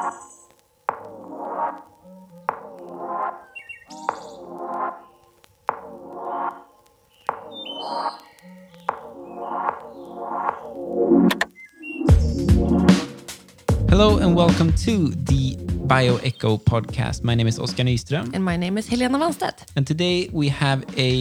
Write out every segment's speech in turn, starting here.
Hello and welcome to the Bioecho podcast. My name is Oskar Nyström. And my name is Helena Wanstedt. And today we have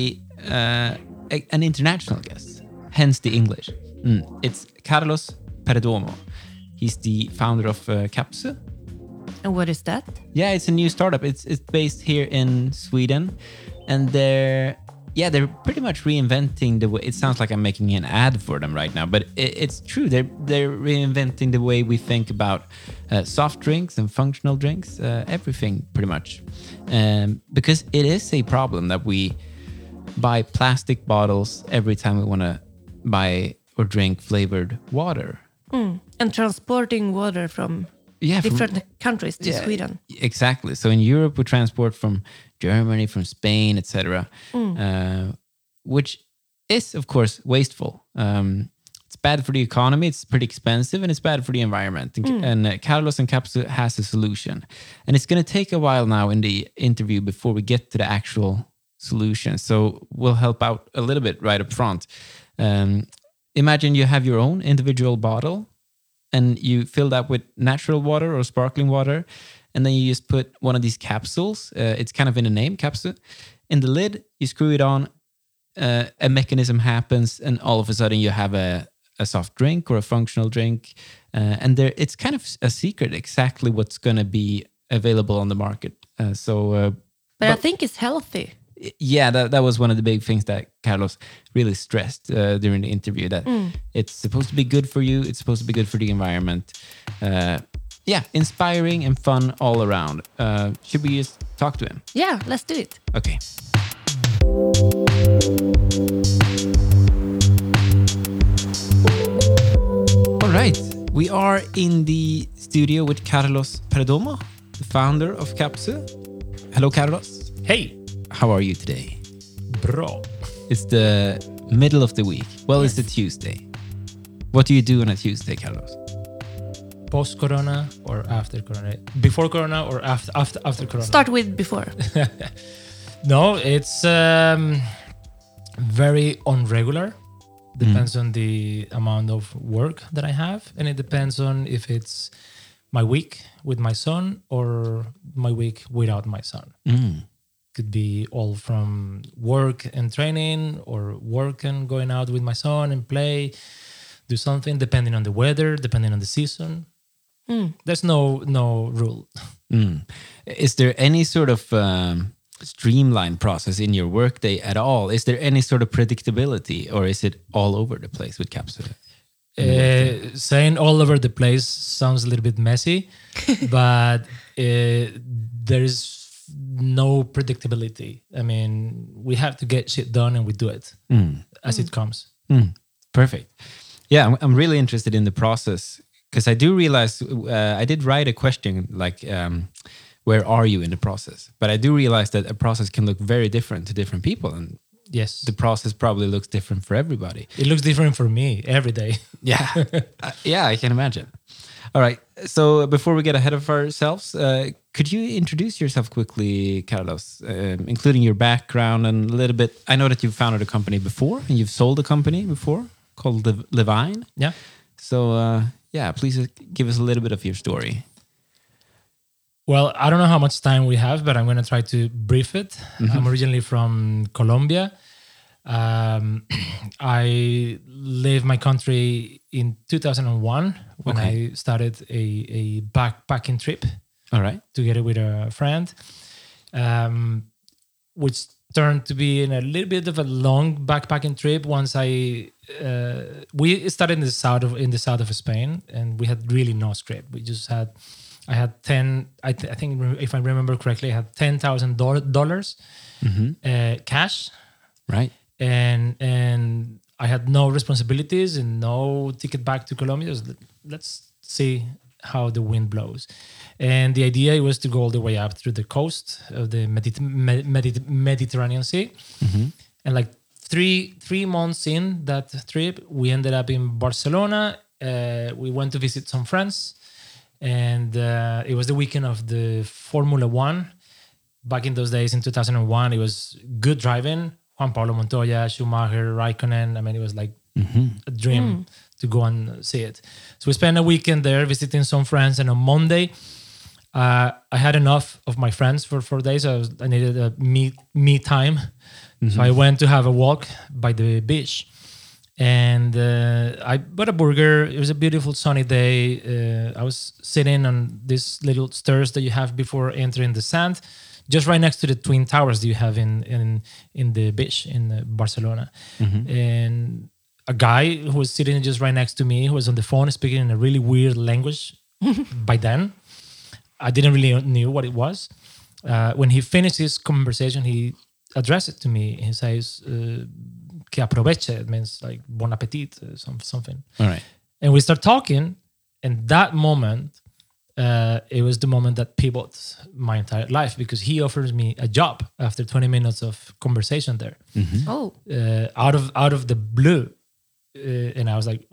an international guest, hence the English. It's Carlos Perdomo. He's the founder of Capsu. And what is that? Yeah, it's a new startup. It's based here in Sweden. And they're pretty much reinventing the way. It sounds like I'm making an ad for them right now, but it's true. They're reinventing the way we think about soft drinks and functional drinks, everything pretty much. Because it is a problem that we buy plastic bottles every time we want to buy or drink flavored water. And transporting water from different countries to Sweden. Exactly. So in Europe, we transport from Germany, from Spain, etc., which is, of course, wasteful. It's bad for the economy, it's pretty expensive, and it's bad for the environment. And Carlos and Capsu has a solution. And it's going to take a while now in the interview before we get to the actual solution. So we'll help out a little bit right up front. Imagine you have your own individual bottle and you fill that with natural water or sparkling water. And then you just put one of these capsules. It's kind of in the name, Capsu. In the lid, you screw it on. A mechanism happens, and all of a sudden you have a soft drink or a functional drink. And it's kind of a secret exactly what's going to be available on the market. But I think it's healthy. Yeah, that was one of the big things that Carlos really stressed during the interview, that it's supposed to be good for you. It's supposed to be good for the environment. Inspiring and fun all around. Should we just talk to him? Yeah, let's do it. Okay. All right. We are in the studio with Carlos Perdomo, the founder of Capsu. Hello, Carlos. Hey. How are you today? Bra. It's the middle of the week. Well, It's the Tuesday. What do you do on a Tuesday, Carlos? Post-corona or after corona? Before corona or after corona? Start with before. No, it's very unregular. Depends on the amount of work that I have. And it depends on if it's my week with my son or my week without my son. Could be all from work and training, or work and going out with my son and play, do something, depending on the weather, depending on the season. There's no rule. Is there any sort of streamlined process in your workday at all? Is there any sort of predictability, or is it all over the place with Capsu? Saying all over the place sounds a little bit messy, but there is no predictability. I mean, we have to get shit done and we do it as it comes. Perfect. Yeah, I'm really interested in the process, because I do realize I did write a question like, where are you in the process? But I do realize that a process can look very different to different people. And yes, the process probably looks different for everybody. It looks different for me every day. Yeah. I can imagine. All right. So before we get ahead of ourselves, could you introduce yourself quickly, Carlos, including your background and a little bit? I know that you've founded a company before and you've sold a company before called Levine. Yeah. So, please give us a little bit of your story. Well, I don't know how much time we have, but I'm going to try to brief it. I'm originally from Colombia. I left my country in 2001 when I started a backpacking trip. All right. Together with a friend, which turned to be in a little bit of a long backpacking trip. Once we started in the south of Spain, and we had really no script. I had 10. I think if I remember correctly, I had $10,000 cash. Right. And I had no responsibilities and no ticket back to Colombia. Let's see how the wind blows. And the idea was to go all the way up through the coast of the Mediterranean Sea. And like three months in that trip, we ended up in Barcelona. We went to visit some friends. and it was the weekend of the Formula One. Back in those days, in 2001, it was good driving. Juan Pablo Montoya, Schumacher, Raikkonen. I mean, it was like a dream to go and see it. So we spent a weekend there visiting some friends, and on Monday, I had enough of my friends for 4 days. So I needed a me time. So I went to have a walk by the beach, and I bought a burger. It was a beautiful sunny day. I was sitting on these little stairs that you have before entering the sand, just right next to the Twin Towers that you have in the beach in Barcelona. And a guy who was sitting just right next to me, who was on the phone speaking in a really weird language. By then, I didn't really knew what it was. When he finished his conversation, he addressed it to me. He says, "Que aproveche." It means like bon appetit, something. All right. And we start talking, and that moment, it was the moment that pivoted my entire life, because he offers me a job after 20 minutes of conversation there. Oh. Out of the blue. And I was like,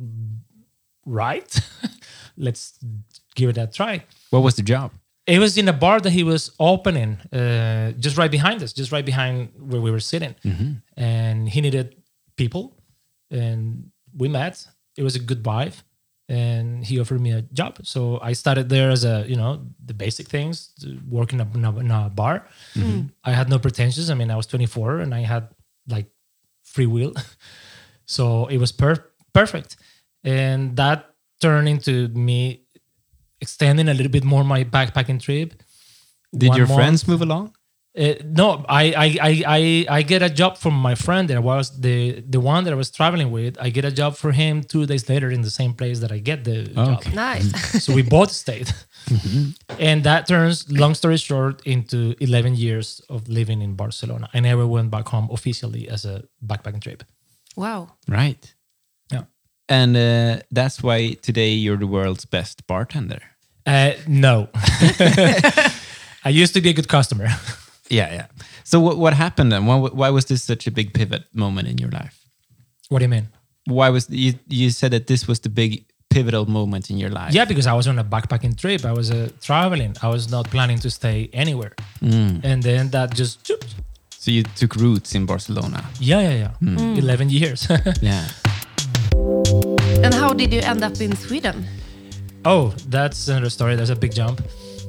right, let's give it a try. What was the job? It was in a bar that he was opening, just right behind us, just right behind where we were sitting. And he needed people, and we met. It was a good vibe, and he offered me a job. So I started there as the basic things, working in a bar. I had no pretensions. I mean, I was 24 and I had like free will. So it was perfect. And that turned into me extending a little bit more my backpacking trip. Did your friends move along? No, I get a job from my friend that was the one that I was traveling with. I get a job for him 2 days later in the same place that I get the job. Nice. So we both stayed. And that turns, long story short, into 11 years of living in Barcelona. I never went back home officially as a backpacking trip. Wow. Right. Yeah. And that's why today you're the world's best bartender. No. I used to be a good customer. Yeah. So what happened then? Why was this such a big pivot moment in your life? What do you mean? Why was you said that this was the big pivotal moment in your life? Yeah, because I was on a backpacking trip. I was traveling. I was not planning to stay anywhere. And then that just... So you took roots in Barcelona. Yeah. 11 years. Yeah. And how did you end up in Sweden? Oh, that's another story. There's a big jump.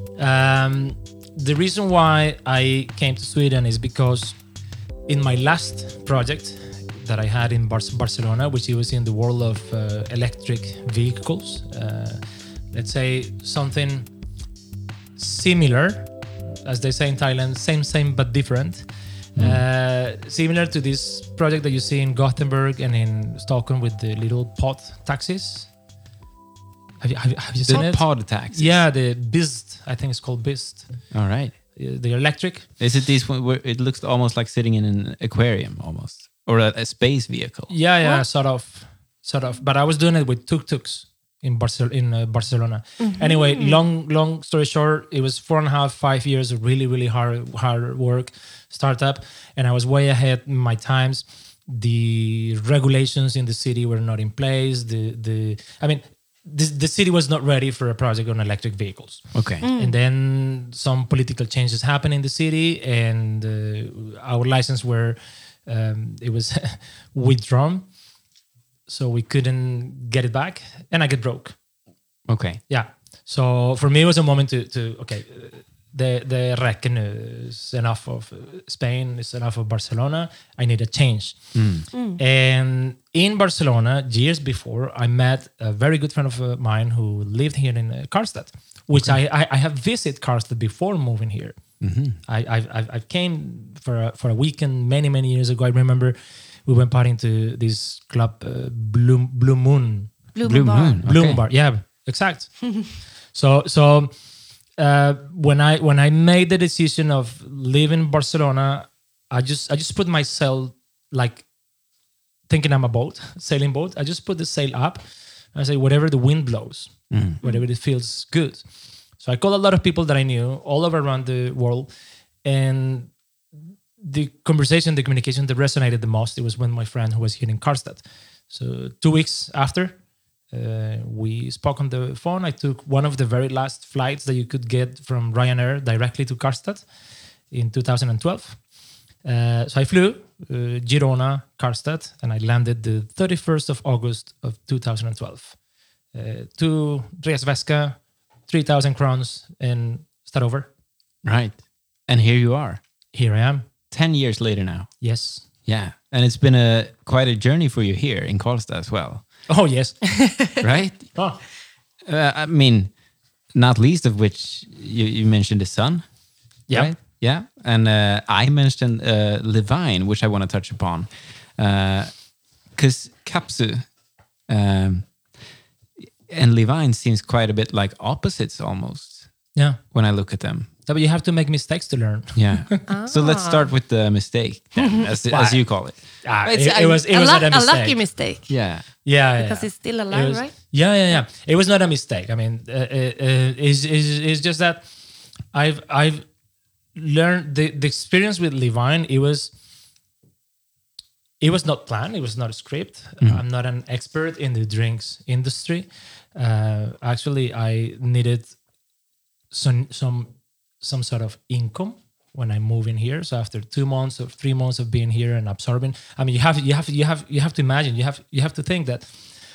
The reason why I came to Sweden is because in my last project that I had in Barcelona, which was in the world of electric vehicles, let's say something similar, as they say in Thailand, same but different. Similar to this project that you see in Gothenburg and in Stockholm with the little pod taxis. Have you seen it? Pod taxis. Yeah, the Bist. I think it's called Bist. All right. The electric. Is it this one where it looks almost like sitting in an aquarium almost, or a space vehicle? Yeah, sort of. But I was doing it with tuk-tuks in Barcelona. Anyway, long story short, it was 4.5 years of really hard work, startup, and I was way ahead in my times. The regulations in the city were not in place. The city was not ready for a project on electric vehicles. Okay. And then some political changes happened in the city, and our license it was withdrawn. So we couldn't get it back, and I get broke. Okay. Yeah. So for me, it was a moment to the reckon is enough of Spain, is enough of Barcelona. I need a change. And in Barcelona, years before, I met a very good friend of mine who lived here in Karlstad, which I have visited Karlstad before moving here. I came for a weekend many years ago. I remember we went partying to this club, Blue Moon. Blue Moon. Okay. Blue Bar. Yeah, exact. So when I made the decision of leaving Barcelona, I just put myself like thinking I'm a boat, sailing boat. I just put the sail up. I say whatever the wind blows, whatever it feels good. So I called a lot of people that I knew all over around the world, and the conversation, the communication that resonated the most, it was when my friend who was here in Karlstad. So 2 weeks after, We spoke on the phone. I took one of the very last flights that you could get from Ryanair directly to Karlstad in 2012. So I flew Girona, Karlstad, and I landed the 31st of August of 2012. To resväska, 3,000 crowns, and start over. Right. And here you are. Here I am. 10 years later now. Yes. Yeah. And it's been quite a journey for you here in Karlstad as well. Oh, yes. Right? Oh. I mean, not least of which you mentioned the sun. Yeah. Right? Yeah. And I mentioned Levine, which I want to touch upon. Because Kapsu and Levine seems quite a bit like opposites almost. Yeah. When I look at them. Yeah, but you have to make mistakes to learn. Yeah. So let's start with the mistake, then, as you call it. It was not a mistake. A lucky mistake. Yeah. Yeah. Because it's still alive, right? Yeah. It was not a mistake. I mean, it's just that I've learned the experience with Levine. It was not planned. It was not a script. I'm not an expert in the drinks industry. Actually, I needed some sort of income when I move in here. So after 2 months or 3 months of being here and absorbing, I mean, you have to imagine, you have to think that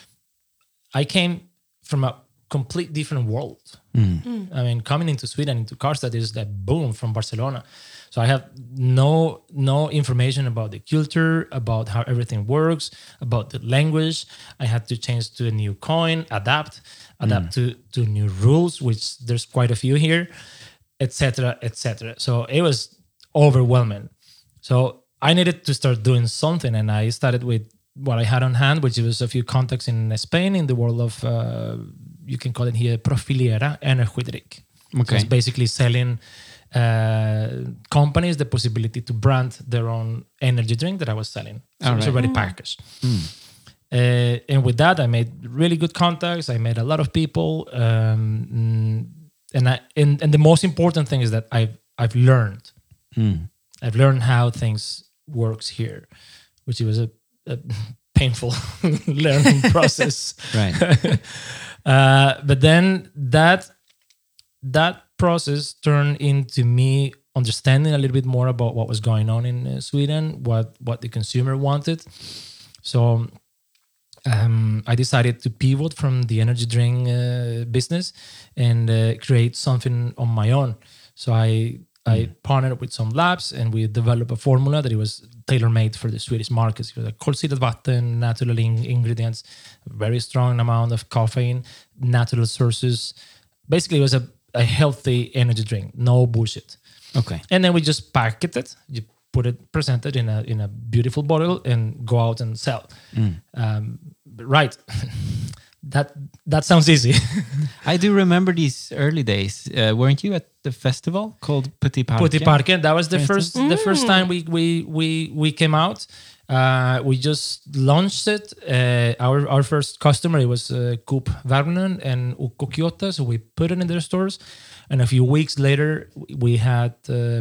I came from a complete different world. I mean, coming into Sweden, into Karlstad is like boom from Barcelona. So I have no information about the culture, about how everything works, about the language. I had to change to a new coin, adapt to new rules, which there's quite a few here, etc. So it was overwhelming. So I needed to start doing something, and I started with what I had on hand, which was a few contacts in Spain in the world of, you can call it here, profiliera energy drink. Okay. So it's basically selling companies the possibility to brand their own energy drink that I was selling. So it was already packaged. And with that, I made really good contacts. I met a lot of people. And the most important thing is that I've learned. I've learned how things works here, which was a painful learning process. Right. But then that process turned into me understanding a little bit more about what was going on in Sweden, what the consumer wanted. So I decided to pivot from the energy drink business and create something on my own. So I partnered with some labs, and we developed a formula that it was tailor-made for the Swedish markets. It was a kolsyrat vatten, natural ingredients, very strong amount of caffeine, natural sources. Basically, it was a healthy energy drink, no bullshit. Okay. And then we just packaged it. You present it in a beautiful bottle and go out and sell. Right. That sounds easy. I do remember these early days. Weren't you at the festival called Putti Parken? Putti Parken. That was the first time we came out. We just launched it. Our first customer, it was Coop Värmland and Ukko Kyoto. So we put it in their stores, and a few weeks later we had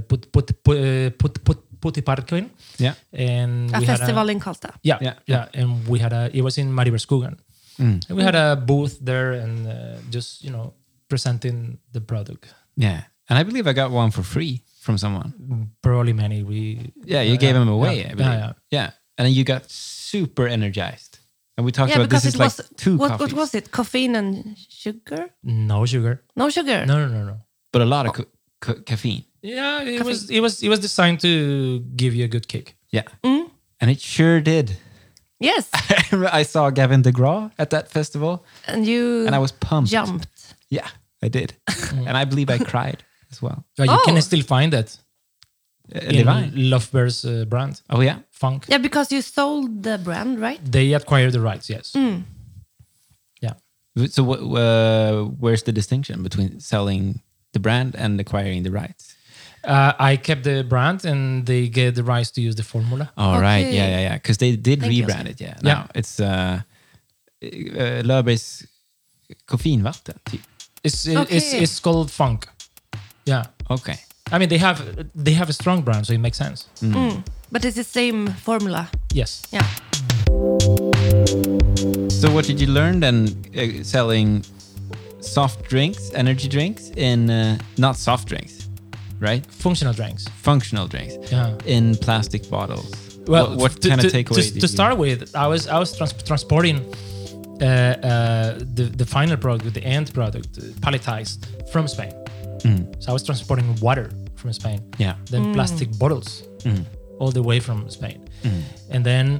Putti Parken. Yeah, and a festival in Karlstad. Yeah, and we had it was in Mariebergsskogen. And we had a booth there and just presenting the product. Yeah, and I believe I got one for free from someone. Probably many. You gave them away. I believe. Yeah, and then you got super energized. And we talked about this is like two coffees. What was it? Caffeine and sugar? No sugar. No sugar. No. But a lot of caffeine. Yeah, it was designed to give you a good kick. Yeah, and it sure did. Yes. I saw Gavin DeGraw at that festival. And I was pumped. Jumped. Yeah, I did. And I believe I cried as well. You can still find it in Levine. Lovebear's brand. Oh, yeah? Funk. Yeah, because you sold the brand, right? They acquired the rights, yes. Yeah. So where's the distinction between selling the brand and acquiring the rights? I kept the brand and they get the rights to use the formula. Oh, right. Yeah. Because they did rebrand it. Yeah. Now it's Löfbergs koffeinvatten. It's called Funk. Yeah. Okay. I mean, they have a strong brand, so it makes sense. But it's the same formula. Yes. Yeah. So what did you learn then selling soft drinks, energy drinks in, not soft drinks, right? Functional drinks. Functional drinks. Yeah. In plastic bottles. Well, what kind of takeaways? To start with, I was transporting the final product, the end product, palletized from Spain. So I was transporting water from Spain. Yeah. Then plastic bottles all the way from Spain. And then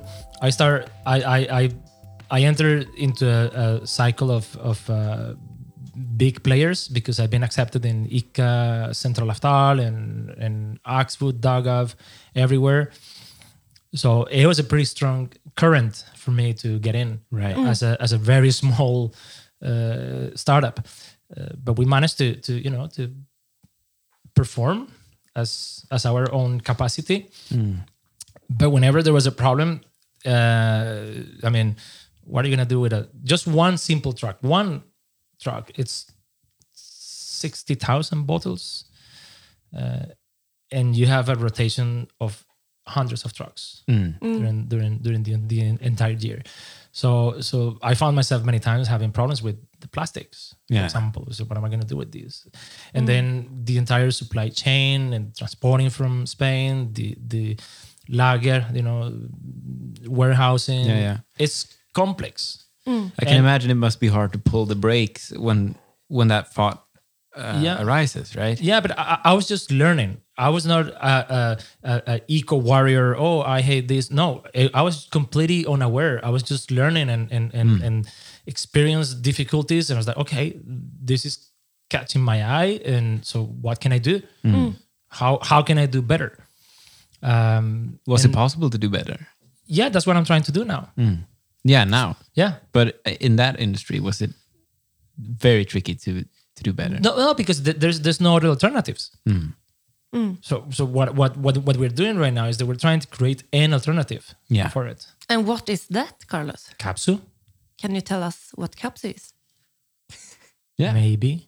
I entered into a cycle of big players because I've been accepted in ICA, Central Laftal, and Axfood, Dagav, everywhere. So it was a pretty strong current for me to get in, right? As a very small startup, but we managed to perform as our own capacity. But whenever there was a problem, I mean, what are you gonna do with just one simple truck? One truck, it's 60,000 bottles, and you have a rotation of hundreds of trucks during the entire year. So I found myself many times having problems with the plastics, for example. So what am I going to do with these? And then the entire supply chain and transporting from Spain, the lager, warehousing. It's complex. I can imagine it must be hard to pull the brakes when that thought arises, right? Yeah, but I was just learning. I was not a eco warrior. Oh, I hate this. No, I was completely unaware. I was just learning and experienced difficulties. And I was like, okay, this is catching my eye. And so what can I do? How can I do better? Was it possible to do better? Yeah, that's what I'm trying to do now. Yeah, now. Yeah. But in that industry, was it very tricky to do better? No, because there's no other alternatives. So what we're doing right now is that we're trying to create an alternative for it. And what is that, Carlos? Capsu. Can you tell us what Capsu is? Yeah. Maybe.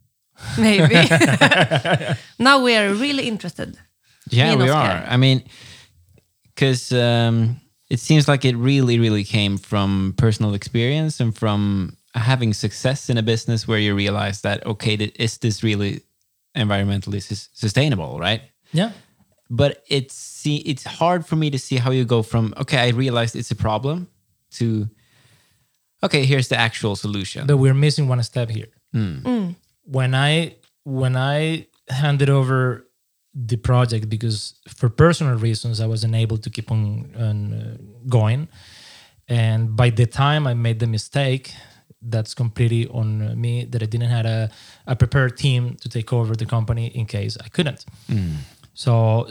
Now we are really interested. Yeah, we are. I mean, because it seems like it really, really came from personal experience and from having success in a business where you realize that, okay, is this really environmentally sustainable, right? Yeah. But it's hard for me to see how you go from, okay, I realized it's a problem, to, okay, here's the actual solution. But we're missing one step here. When I handed over the project, because for personal reasons I wasn't able to keep on going, and by the time I made the mistake, that's completely on me, that I didn't have a prepared team to take over the company in case I couldn't. So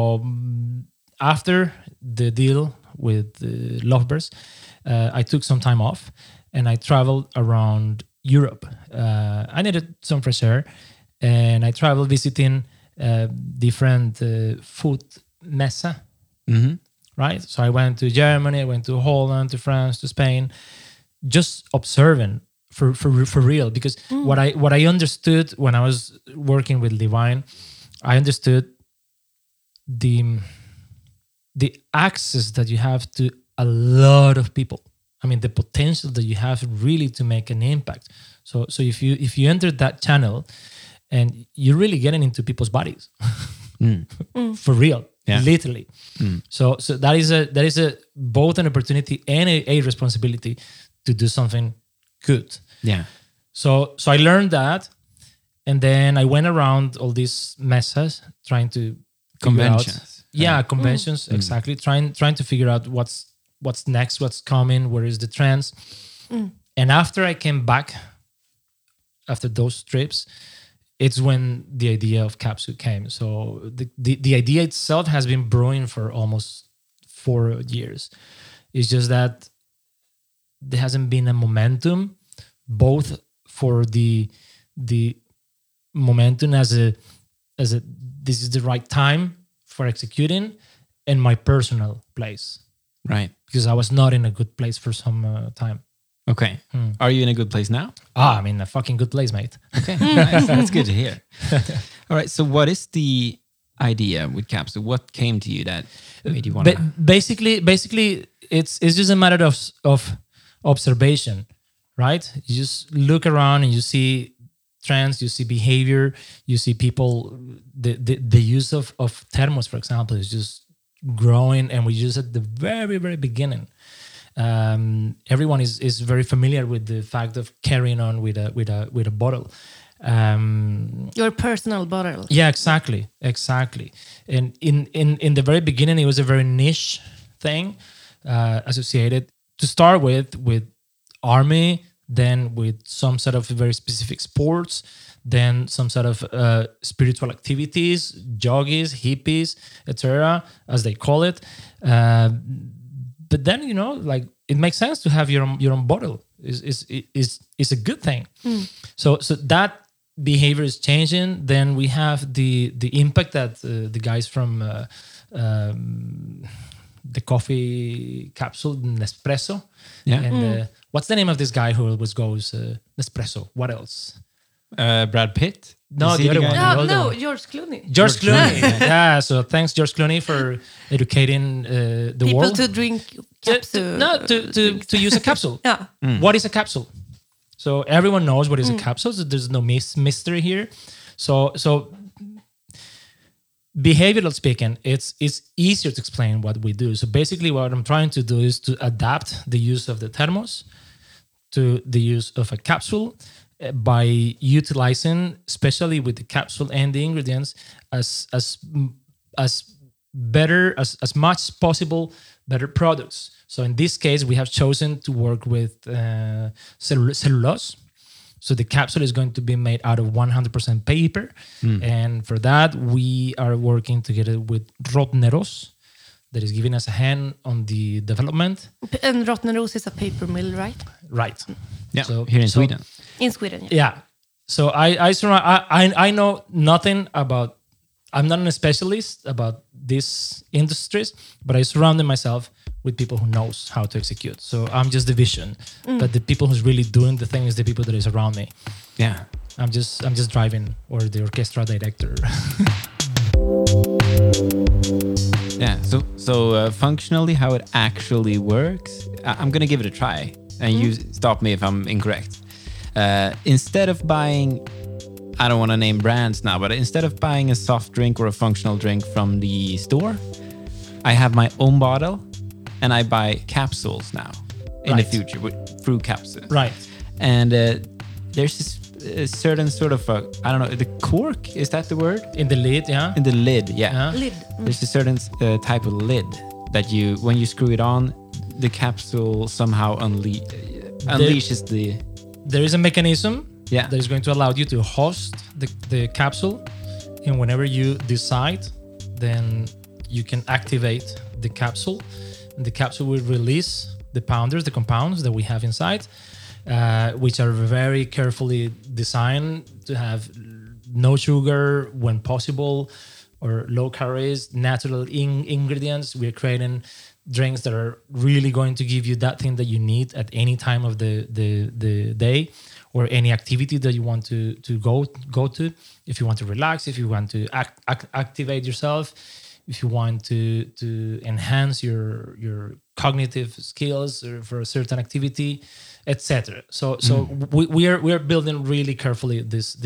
after the deal with Lovebirds, I took some time off and I traveled around Europe. I needed some fresh air, and I traveled visiting different food mesa, right? So I went to Germany, I went to Holland, to France, to Spain, just observing for real. Because what I understood when I was working with Divine, I understood the access that you have to a lot of people. I mean, the potential that you have really to make an impact. So if you enter that channel, and you're really getting into people's bodies, for real, literally. So that is a both an opportunity and a responsibility to do something good. Yeah. So I learned that, and then I went around all these mesas trying to conventions. Conventions, exactly. Trying to figure out what's next, what's coming, where is the trends. And after I came back, after those trips, it's when the idea of Capsu came. So the idea itself has been brewing for almost 4 years. It's just that there hasn't been a momentum, both for the momentum as a this is the right time for executing, and my personal place. Right. Because I was not in a good place for some time. Okay. Are you in a good place now? I'm in a fucking good place, mate. Okay, nice. That's good to hear. All right. So what is the idea with Capsu? What came to you that made you want to... Basically, it's just a matter of observation, right? You just look around and you see trends, you see behavior, you see people, the use of thermos, for example, is just growing, and we use it at the very, very beginning. Everyone is very familiar with the fact of carrying on with a bottle. Your personal bottle. Yeah, exactly. And in the very beginning, it was a very niche thing, associated to start with army, then with some sort of very specific sports, then some sort of spiritual activities, yogis, hippies, etc., as they call it. But then, like, it makes sense to have your own bottle. Is a good thing. So that behavior is changing. Then we have the impact that the guys from the coffee capsule Nespresso. Yeah. And what's the name of this guy who always goes Nespresso? What else? Brad Pitt? No, Is he the other guy? one. No, the older one. George Clooney. George Clooney. Yeah. So thanks, George Clooney, for educating the People world. to drink capsule. To use a capsule. Yeah. What is a capsule? So everyone knows what is a capsule. So there's no mystery here. So behavioral speaking, it's easier to explain what we do. So basically, what I'm trying to do is to adapt the use of the thermos to the use of a capsule by utilizing, especially with the capsule and the ingredients, as better as much as possible better products. So in this case, we have chosen to work with cellulose. So the capsule is going to be made out of 100% paper. And for that, we are working together with Rottneros, that is giving us a hand on the development. And Rottneros is a paper mill, right? Right. Yeah, here in Sweden. In Sweden, yeah. Yeah. So I know nothing about, I'm not a specialist about these industries, but I surrounded myself with people who knows how to execute. So I'm just the vision, but the people who's really doing the thing is the people that is around me. Yeah. I'm just driving, or the orchestra director. Yeah. So functionally, how it actually works, I'm gonna give it a try, and you stop me if I'm incorrect. Instead of buying, I don't want to name brands now, but instead of buying a soft drink or a functional drink from the store, I have my own bottle, and I buy capsules now in the future through capsules. Right. And there's this certain sort of I don't know, the cork, is that the word? In the lid, yeah. In the lid, yeah. Lid. There's a certain type of lid that when you screw it on, the capsule somehow unleashes the... There is a mechanism Yeah. that is going to allow you to host the capsule, and whenever you decide, then you can activate the capsule, and the capsule will release the compounds that we have inside, which are very carefully designed to have no sugar when possible, or low calories, natural ingredients. We're creating drinks that are really going to give you that thing that you need at any time of the day, or any activity that you want to go to. If you want to relax, if you want to activate yourself, if you want to enhance your cognitive skills or for a certain activity, etc. So we are building really carefully this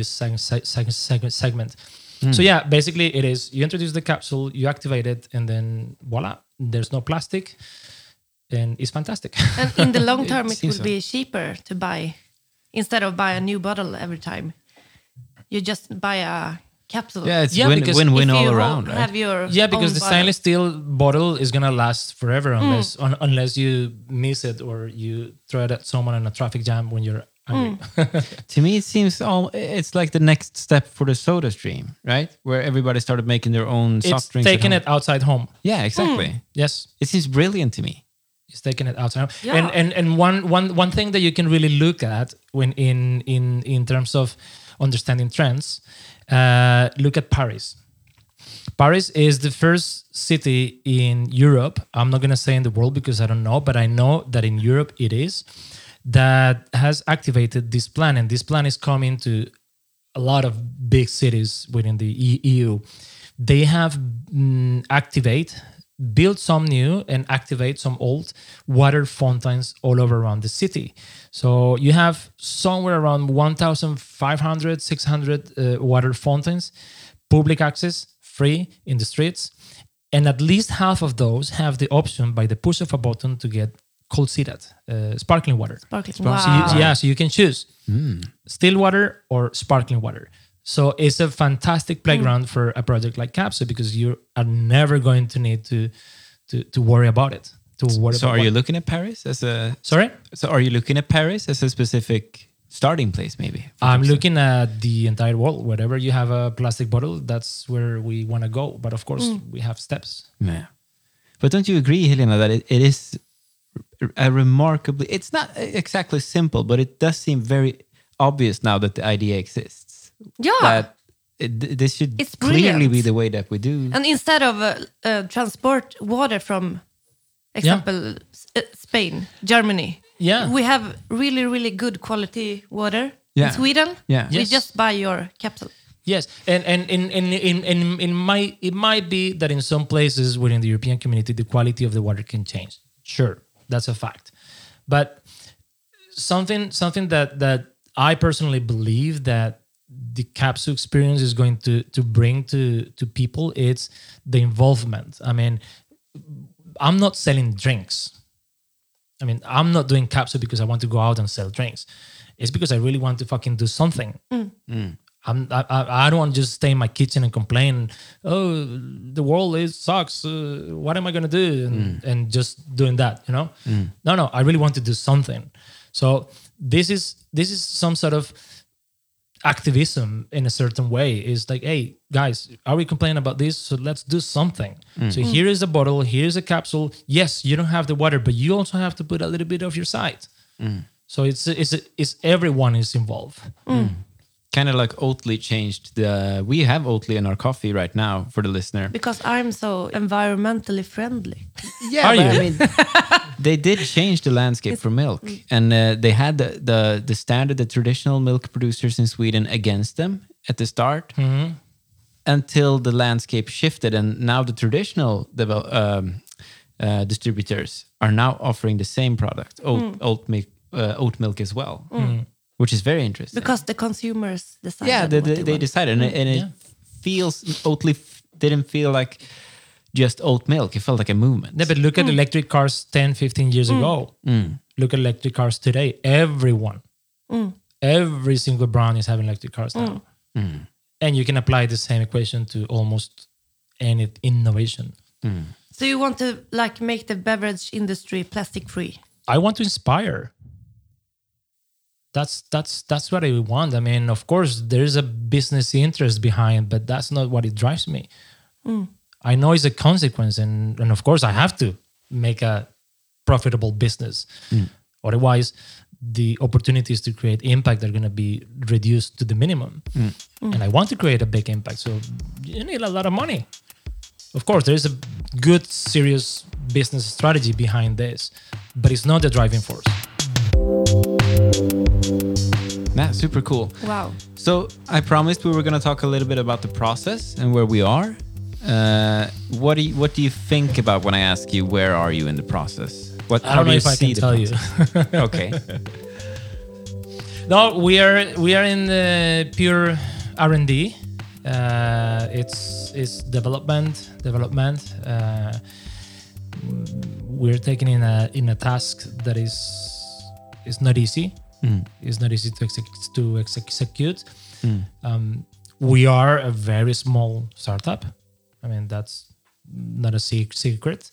segment. So yeah, basically it is, you introduce the capsule, you activate it, and then voila, there's no plastic, and it's fantastic. And in the long term, it will so. be cheaper to buy, instead of buy a new bottle every time. You just buy a capsule. Yeah, it's because win-win If all you around, right? have your because own the bottle. stainless steel bottle is gonna last forever unless you miss it or you throw it at someone in a traffic jam when you're hungry. To me, it seems it's like the next step for the soda stream, right? Where everybody started making their own soft It's drinks. at taking home. it outside home. Yeah, exactly. Yes. It seems brilliant to me. It's taking it outside. Yeah. And one thing that you can really look at when in terms of understanding trends, look at Paris. Paris is the first city in Europe. I'm not gonna say in the world because I don't know, but I know that in Europe it is, that has activated this plan, and this plan is coming to a lot of big cities within the EU. They have activate build some new and activate some old water fountains all over around the city. So you have somewhere around 1,500, 600 water fountains, public access, free in the streets. And at least half of those have the option by the push of a button to get cold-seated sparkling water. Sparkling. So Wow. so you can choose still water or sparkling water. So it's a fantastic playground for a project like Capsule because you are never going to need to worry about it. So are you looking at Paris as a... Sorry? So are you looking at Paris as a specific starting place, maybe? I'm looking at the entire world. Wherever you have a plastic bottle, that's where we want to go. But of course, we have steps. Yeah. But don't you agree, Helena, that it is a remarkably... It's not exactly simple, but it does seem very obvious now that the idea exists. Yeah. That this should It's clearly brilliant. be the way that we do. And instead of transport water from, example, Spain, Germany, Yeah. we have really, really good quality water Yeah. in Sweden. Yeah. We Yes. just buy your capsule. Yes, and it might be that in some places within the European community, the quality of the water can change. Sure, that's a fact. But something that I personally believe that the capsule experience is going to bring to people, it's the involvement. I mean, I'm not selling drinks. I mean, I'm not doing capsule because I want to go out and sell drinks. It's because I really want to fucking do something. I don't want to just stay in my kitchen and complain. Oh, the world sucks. What am I gonna do? And just doing that, you know? No. I really want to do something. So this is some sort of activism in a certain way. It's like, hey guys, are we complaining about this? So let's do something. So here is a bottle, here's a capsule. Yes, you don't have the water, but you also have to put a little bit of your side. So it's everyone is involved. Kind of like Oatly changed the... We have Oatly in our coffee right now for the listener. Because I'm so environmentally friendly. Yeah, Are but you? I mean, they did change the landscape for milk, and they had the standard, the traditional milk producers in Sweden against them at the start, until the landscape shifted, and now the traditional distributors are now offering the same product, oat milk as well, which is very interesting. Because the consumers decided. Yeah, what they want. decided, and it feels Oatly didn't feel like just oat milk. It felt like a movement. Yeah, but look at electric cars 10, 15 years ago. Look at electric cars today. Everyone, every single brand is having electric cars now. And you can apply the same equation to almost any innovation. So you want to like make the beverage industry plastic free? I want to inspire. That's what I want. I mean, of course, there's a business interest behind, but that's not what it drives me. I know it's a consequence, and of course, I have to make a profitable business. Otherwise, the opportunities to create impact are going to be reduced to the minimum. And I want to create a big impact, so you need a lot of money. Of course, there is a good, serious business strategy behind this, but it's not the driving force. Nah, super cool. Wow. So I promised we were going to talk a little bit about the process and where we are. What do you think about when I ask you where are you in the process? I don't know if I can tell you. Okay. No, we are in the pure R&D. It's development. We're taking in a task that is not easy. It's not easy to execute. We are a very small startup. I mean, that's not a secret.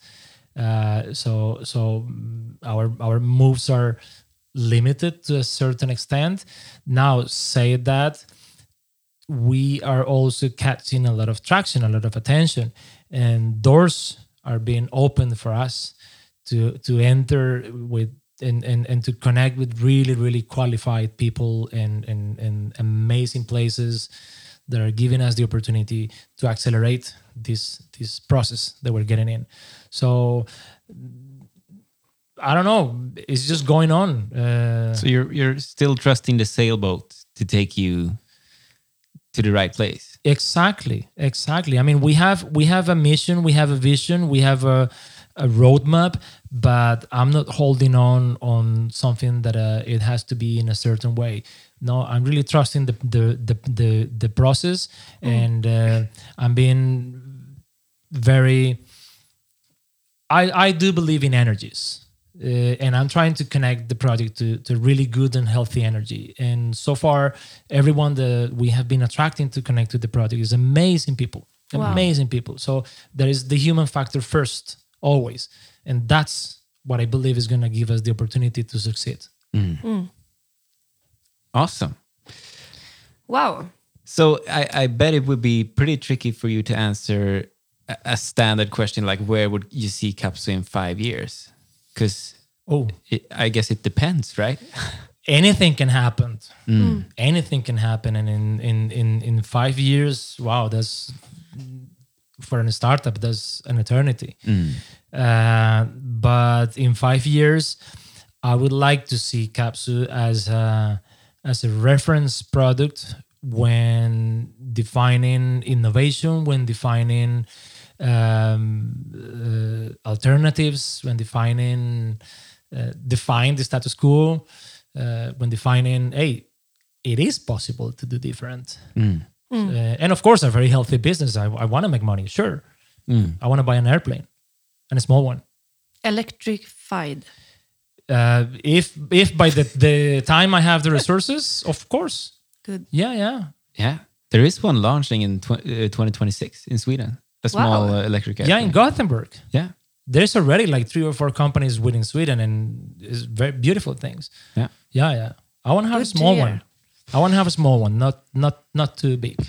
So our moves are limited to a certain extent. Now, say that we are also catching a lot of traction, a lot of attention, and doors are being opened for us to enter with and to connect with really, really qualified people and amazing places that are giving us the opportunity to accelerate this process that we're getting in. So I don't know. It's just going on. So you're still trusting the sailboat to take you to the right place. Exactly. I mean, we have a mission, we have a vision, we have a roadmap, but I'm not holding on something that it has to be in a certain way. No, I'm really trusting the process, and I'm being very. I do believe in energies. And I'm trying to connect the project to really good and healthy energy. And so far, everyone that we have been attracting to connect to the project is amazing people. Wow. Amazing people. So there is the human factor first, always. And that's what I believe is going to give us the opportunity to succeed. Awesome. Wow. So I bet it would be pretty tricky for you to answer a standard question like, where would you see Capsu in 5 years? Because I guess it depends, right? Anything can happen. Anything can happen. And in 5 years, wow, that's for a startup, that's an eternity. But in 5 years, I would like to see Capsu as a reference product when defining innovation, when defining alternatives, when define the status quo, when defining, hey, it is possible to do different. And of course, a very healthy business. I want to make money, sure. I want to buy an airplane, and a small one. Electrified. If by the time I have the resources, of course. Good. Yeah. There is one launching in 2026 in Sweden. A small electric airplane. Yeah, in Gothenburg. Yeah. There's already like 3 or 4 companies within Sweden, and it's very beautiful things. Yeah. I want to have a small one. I want to have a small one, not too big.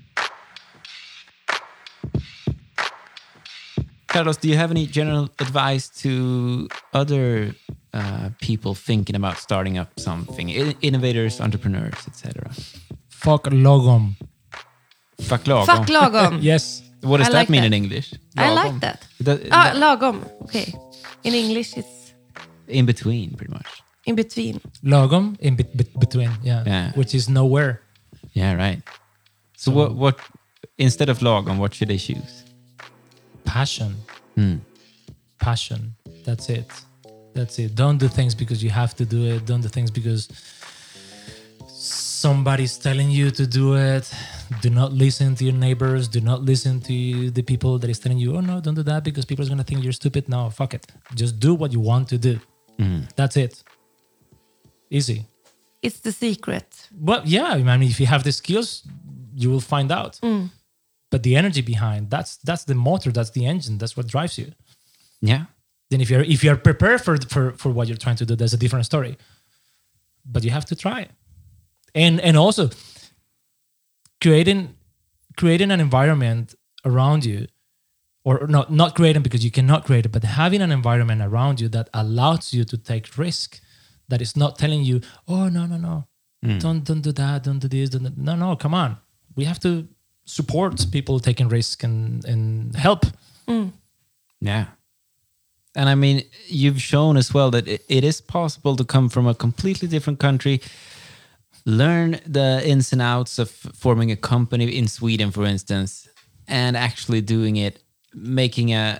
Carlos, do you have any general advice to other people thinking about starting up something? Innovators, entrepreneurs, etc. Fuck lagom. Fuck lagom. Fuck lagom. Yes. What does I that like mean that. in English? I like that. Lagom. Okay. In English, it's In between, pretty much. in between. Lagom in between. Yeah. Which is nowhere. Yeah, right. So what instead of lagom, what should they choose? Passion. Passion. That's it. Don't do things because you have to do it. Don't do things because somebody's telling you to do it. Do not listen to your neighbors. Do not listen to the people that is telling you, oh no, don't do that because people are going to think you're stupid. No, fuck it. Just do what you want to do. That's it. Easy. It's the secret. Well, yeah. I mean, if you have the skills, you will find out. But the energy behind, that's the motor, that's the engine, that's what drives you. Yeah. Then if you're prepared for what you're trying to do, that's a different story. But you have to try. And also creating an environment around you, or not creating because you cannot create it, but having an environment around you that allows you to take risk, that is not telling you, oh no. Don't do that, don't do this, no, come on. We have to support people taking risk and help. Yeah. And I mean, you've shown as well that it is possible to come from a completely different country, learn the ins and outs of forming a company in Sweden, for instance, and actually doing it, making a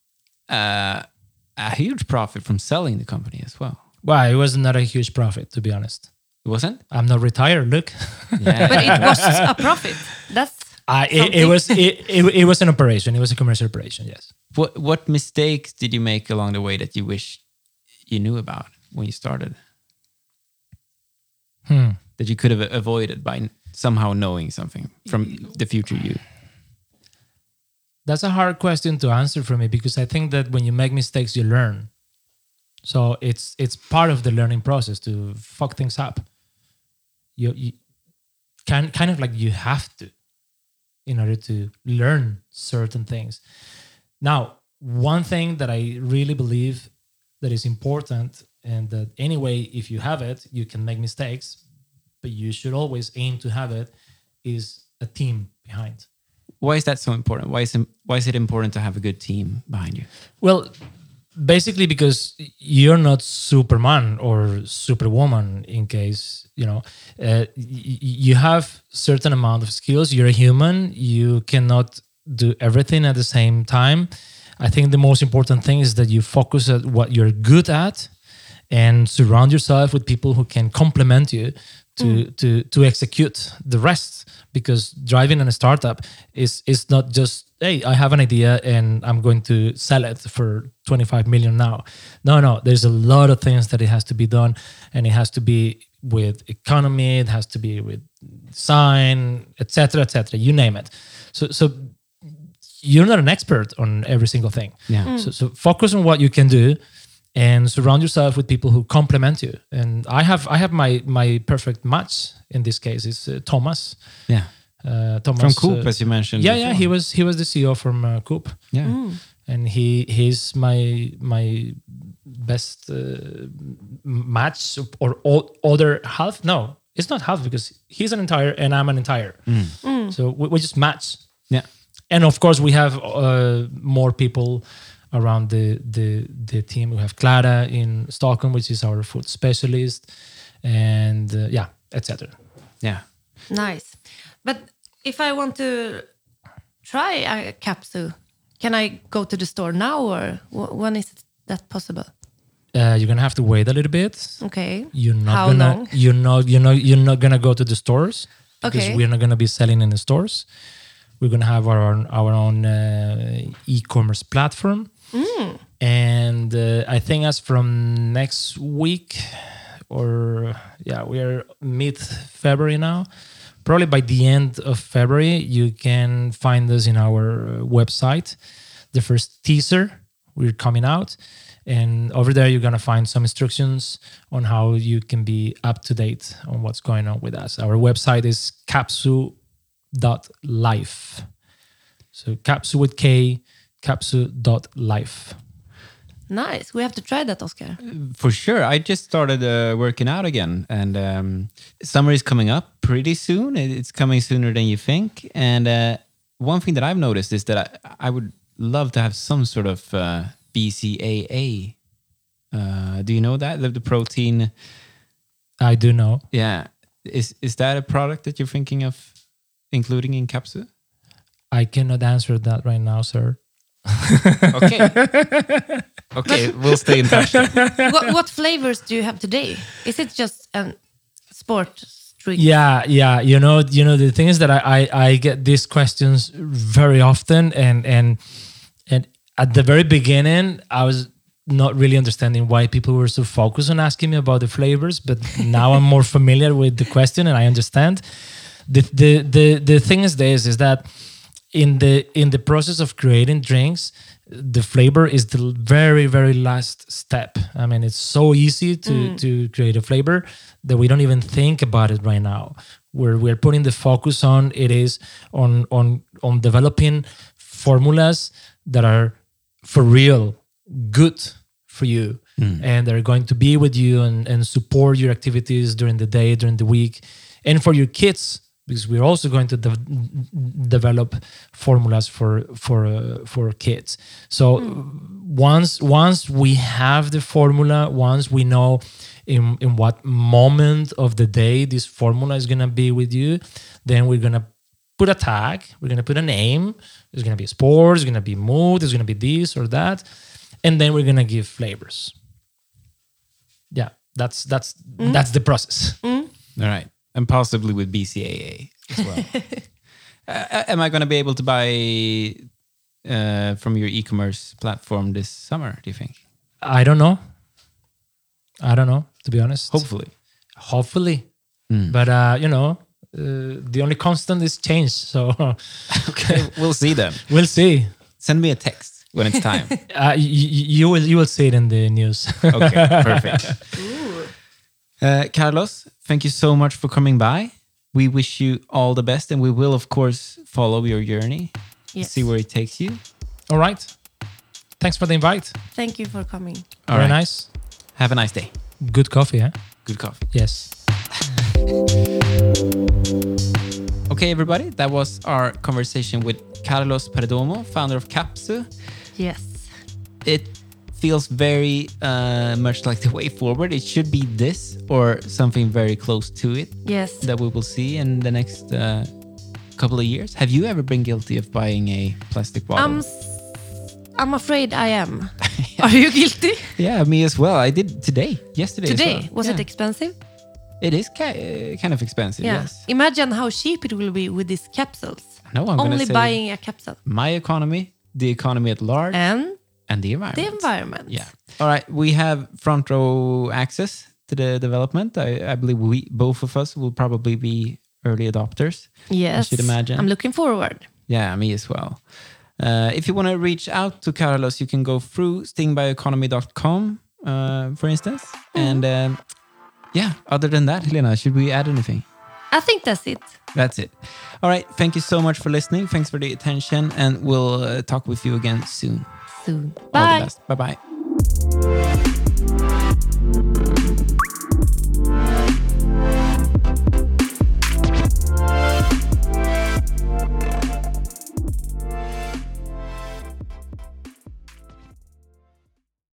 huge profit from selling the company as well. Well, it was not a huge profit, to be honest. It wasn't? I'm not retired, look. Yeah. But it was a profit. That's it was an operation. It was a commercial operation, yes. What mistakes did you make along the way that you wish you knew about when you started? That you could have avoided by somehow knowing something from the future you? That's a hard question to answer for me because I think that when you make mistakes, you learn. So it's part of the learning process to fuck things up. You kind of like you have to in order to learn certain things. Now, one thing that I really believe that is important, and that anyway, if you have it, you can make mistakes, but you should always aim to have it, is a team behind. Why is that so important? Why is it important to have a good team behind you? Well, basically because you're not Superman or Superwoman. In case you have certain amount of skills. You're a human. You cannot do everything at the same time. I think the most important thing is that you focus at what you're good at and surround yourself with people who can complement you to execute the rest. Because driving a startup is not just, hey, I have an idea and I'm going to sell it for 25 million now. No, there's a lot of things that it has to be done, and it has to be with economy, it has to be with design, etc., you name it. So you're not an expert on every single thing. Yeah. So focus on what you can do and surround yourself with people who complement you. And I have my perfect match in this case is Thomas. Yeah. Thomas From Coop, as you mentioned. Yeah, before. he was the CEO from Coop. Yeah. And he's my best match or other half. No, it's not half because he's an entire and I'm an entire. So we just match. Yeah. And of course, we have more people around the team. We have Clara in Stockholm, which is our food specialist, and etc. Yeah. Nice. But if I want to try a capsule, can I go to the store now, or when is that possible? You're gonna have to wait a little bit. Okay. You're not How gonna. long? You're not gonna go to the stores because Okay. we're not gonna be selling in the stores. We're gonna have our own e-commerce platform, and I think as from next week, or we are mid-February now. Probably by the end of February, you can find us in our website. The first teaser, we're coming out. And over there, you're going to find some instructions on how you can be up to date on what's going on with us. Our website is capsu.life. So capsu with K, capsu.life. Nice. We have to try that, Oscar. For sure. I just started working out again, and summer is coming up pretty soon. It's coming sooner than you think. And one thing that I've noticed is that I would love to have some sort of BCAA. Do you know that? The protein? I do know. Yeah. Is that a product that you're thinking of including in Capsu? I cannot answer that right now, sir. Okay. Okay, we'll stay in touch. What flavors do you have today? Is it just a sport drink? Yeah. You know. The thing is that I get these questions very often, and at the very beginning, I was not really understanding why people were so focused on asking me about the flavors. But now I'm more familiar with the question, and I understand. The thing is that in the process of creating drinks, the flavor is the very, very last step. I mean, it's so easy to create a flavor that we don't even think about it right now. Where we're putting the focus on it is on developing formulas that are for real good for you and they're going to be with you and support your activities during the day, during the week, and for your kids. Because we're also going to develop formulas for kids. So once we have the formula, once we know in what moment of the day this formula is gonna be with you, then we're gonna put a tag. We're gonna put a name. There's gonna be sports. There's gonna be mood. There's gonna be this or that, and then we're gonna give flavors. Yeah, that's the process. All right. And possibly with BCAA as well. Am I going to be able to buy from your e-commerce platform this summer, do you think? I don't know, to be honest. Hopefully. But, the only constant is change. So, Okay, we'll see then. We'll see. Send me a text when it's time. You will see it in the news. Okay, perfect. Carlos, thank you so much for coming by. We wish you all the best, and we will, of course, follow your journey, see where it takes you. All right. Thanks for the invite. Thank you for coming. Very nice. Have a nice day. Good coffee, huh? Good coffee. Yes. Okay, everybody, that was our conversation with Carlos Perdomo, founder of Capsu. Yes. It feels very much like the way forward. It should be this or something very close to it Yes. that we will see in the next couple of years. Have you ever been guilty of buying a plastic bottle? I'm afraid I am. Are you guilty? Yeah, me as well. I did yesterday. Today? As well. Was it expensive? It is kind of expensive, Yeah. yes. Imagine how cheap it will be with these capsules. No, I'm going Only to say buying a capsule. my economy, the economy at large, and the environment. The environment. Yeah. All right. We have front row access to the development. I believe both of us will probably be early adopters. Yes. I should imagine. I'm looking forward. Yeah, me as well. If you want to reach out to Carlos, you can go through stingbioeconomy.com, for instance. And yeah, other than that, Helena, should we add anything? I think that's it. That's it. All right. Thank you so much for listening. Thanks for the attention. And we'll talk with you again soon. Soon. All the Bye. best. Bye-bye.